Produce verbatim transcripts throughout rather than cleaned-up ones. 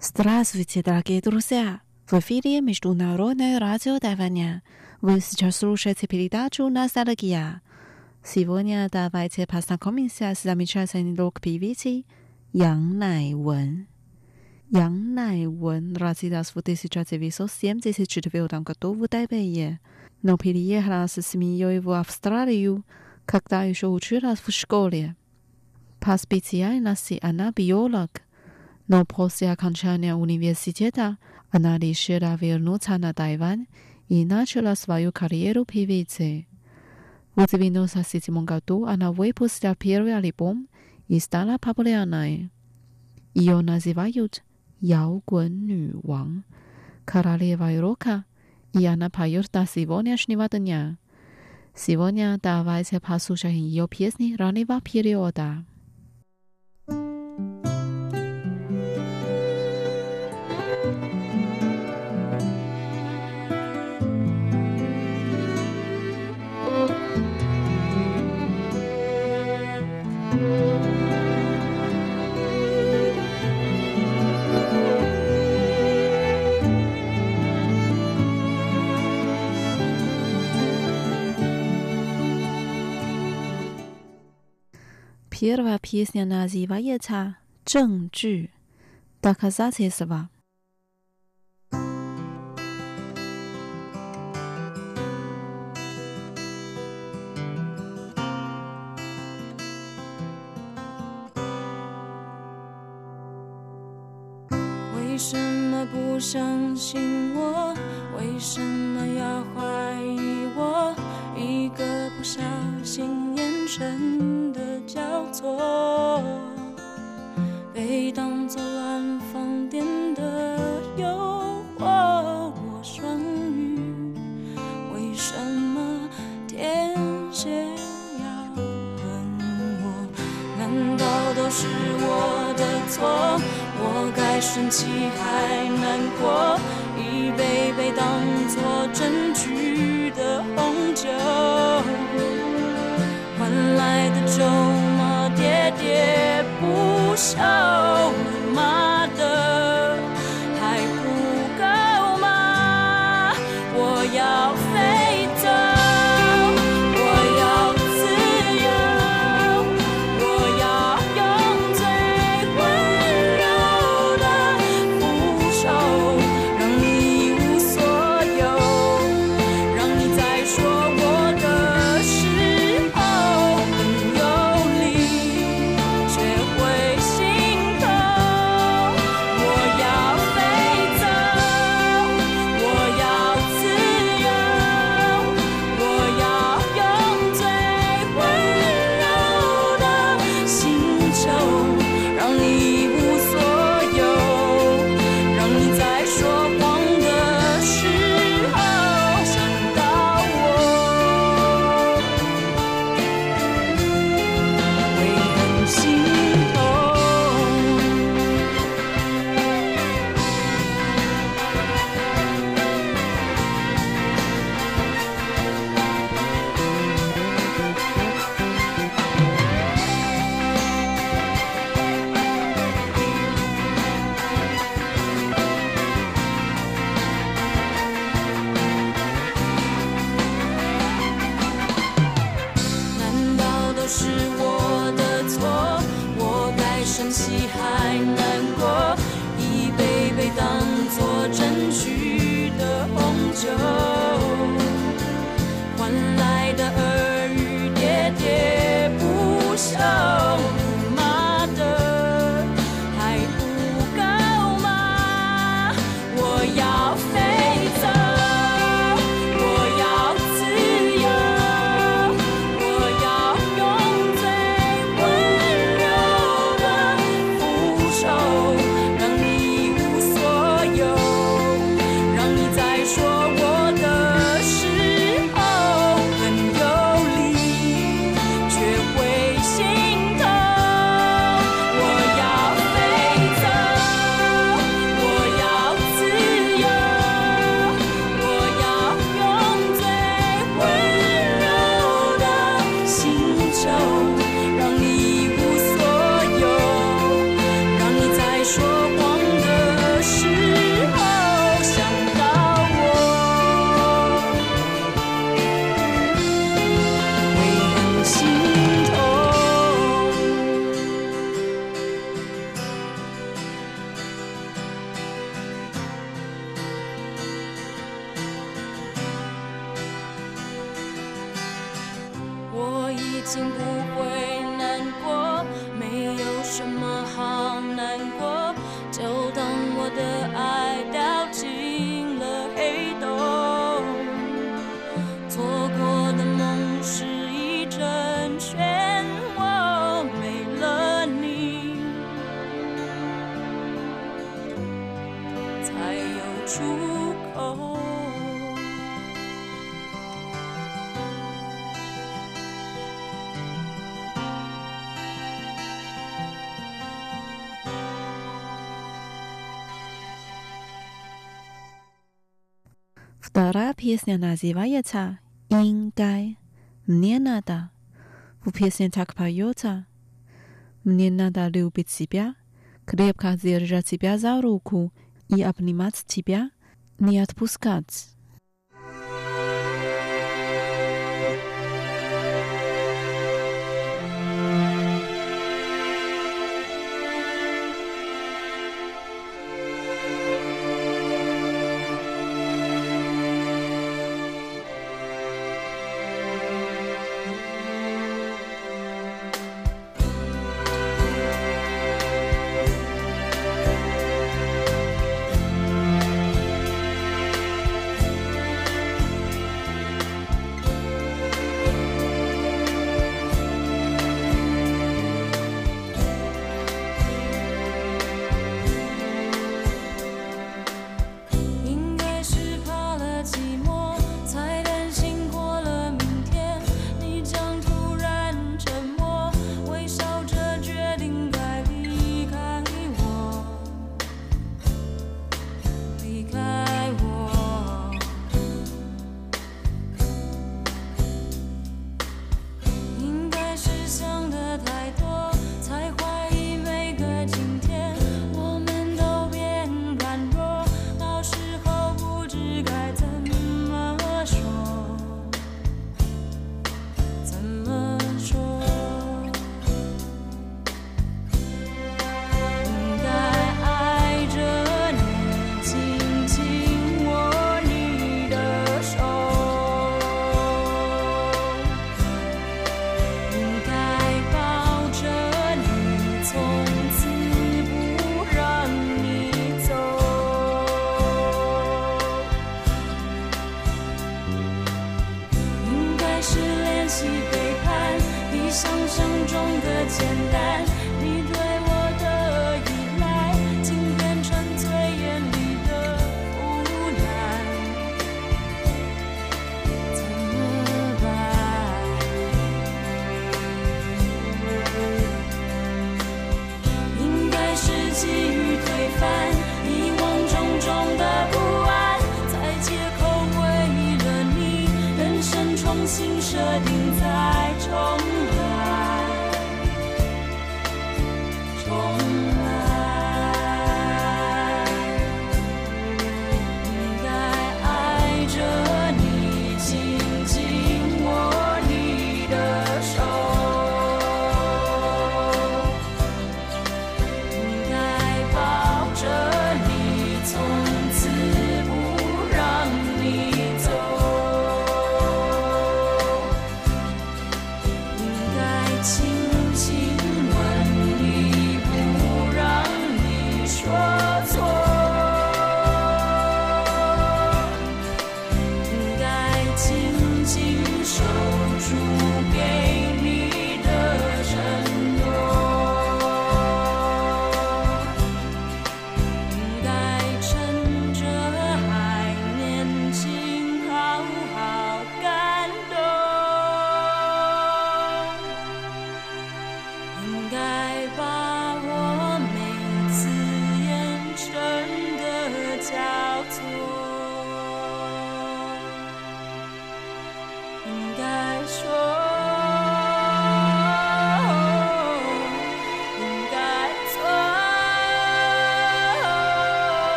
Здравствуйте, дорогие друзья! В эфире Международное радио Тайваня. Вы сейчас слушаете передачу «Ностальгия». Сегодня давайте познакомимся с замечательной рок-певицей Ян Найвен. Ян Найвен родилась в тысяча девятьсот семьдесят четвёртом году в Тайбэе, но переехала с семьей в Австралию, когда еще училась в школе. По специальности она биолог, но после окончания университета она решила вернуться на Тайвань и начала свою карьеру певицы. В девяносто седьмом году она выпустила первый альбом и стала популярной. Ее называют «Яогун-ню-ван», королевой рока, и она поет до сегодняшнего дня. Сегодня давайте послушаем ее песни раннего периода. Первая песня называется «证据» доказательства. 为什么不相信我？为什么要怀疑我？一个不小心，眼神的交错，被当作乱放电的诱惑。我双鱼，为什么天蝎要恨我？难道都是我的错？我该生气还难过，一杯杯当作证据的红酒，换来的咒骂喋喋不休，骂的还不够吗？我要飞走，我要自由，我要用最温柔的复仇，让你一无所有，让你在说我的时候很有理，却会心痛。 已经不会难过，没有什么好难过，就当我的爱掉进了黑洞。错过的梦是一阵漩涡，没了你才有出口。 Вторая песня называется «Ингай». Мне надо. В песне так поется: мне надо любить себя, крепко держать тебя за руку и обнимать тебя, не отпускать.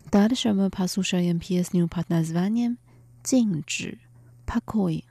Дальше мы послушаем песню под названием «静止» покой.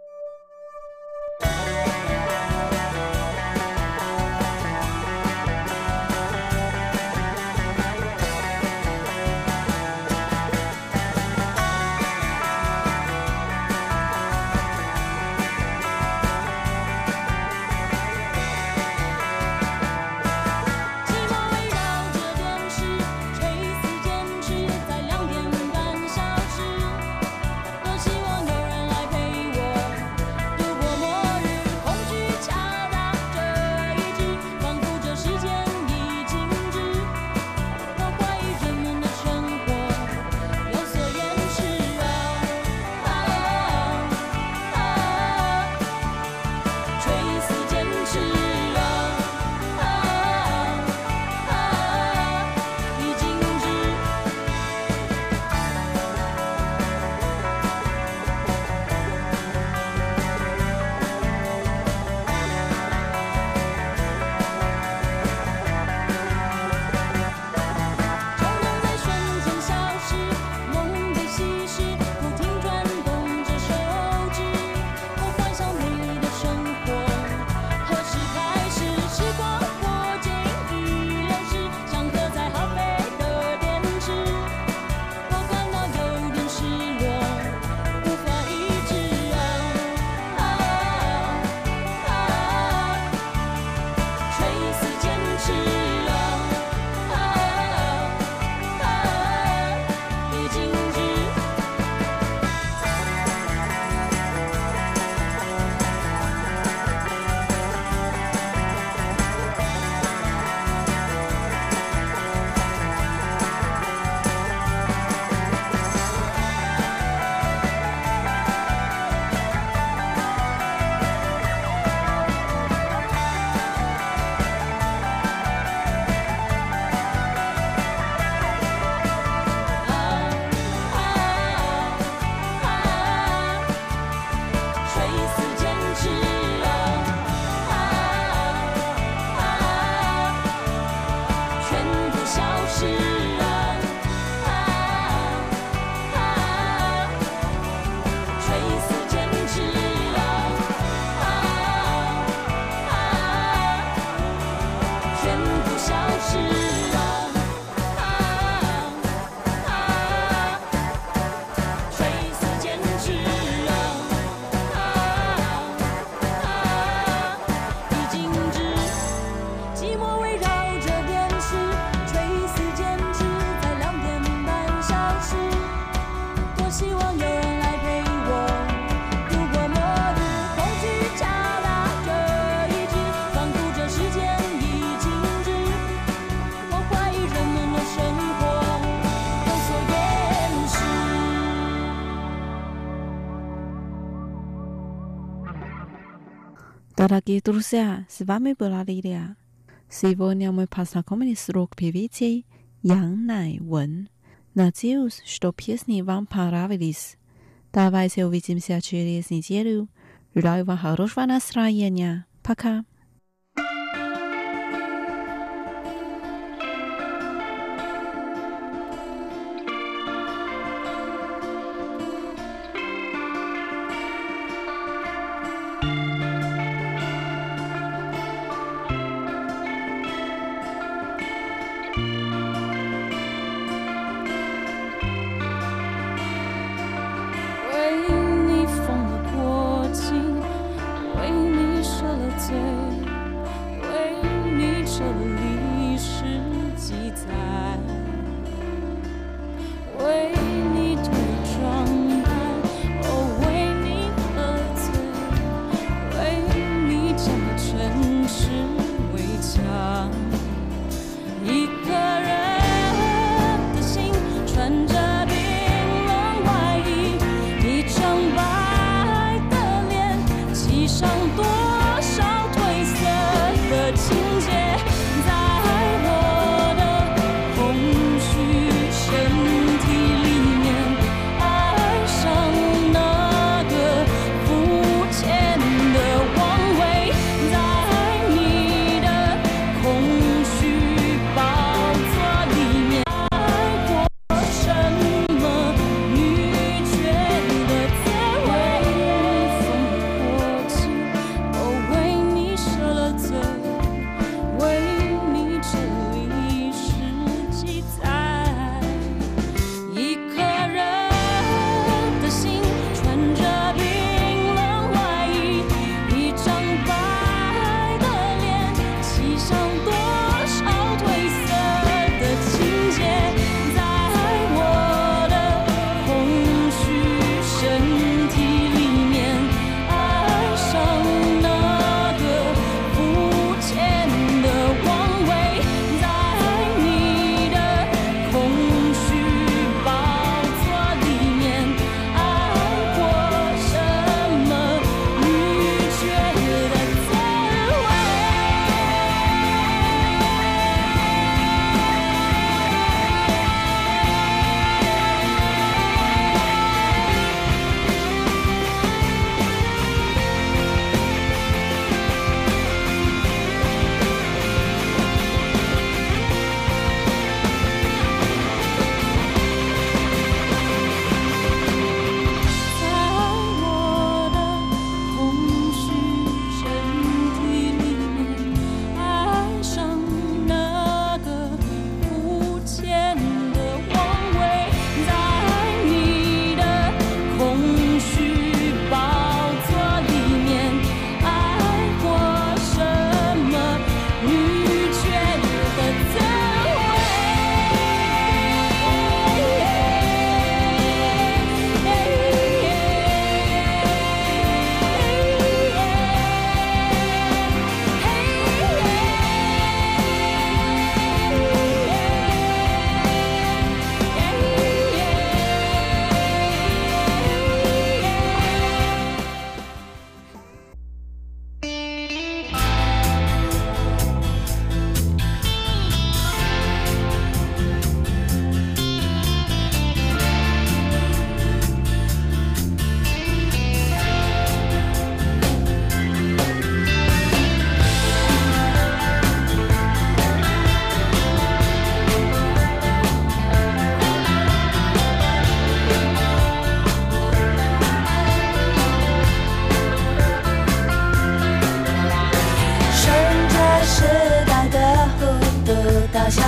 Дорогие друзья, с вами была Лилия. Сегодня мы познакомились с рок-певицей Ян Найвен. Надеюсь, что песни вам понравились. Давайте увидимся через неделю. Желаю вам хорошего настроения. Пока.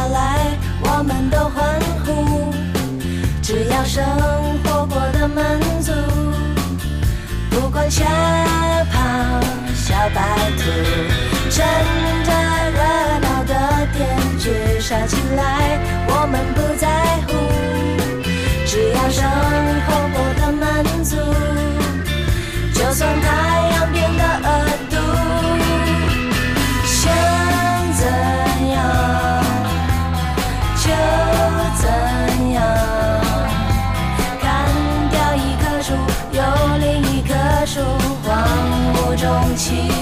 来，我们都欢呼。只要生活过得满足，不管吓跑小白兔，趁着热闹的点聚烧起来，我们不在乎。只要生活过得满足，就算太阳变得恶毒，想怎样就怎样。砍掉一棵树，有另一棵树，荒芜中起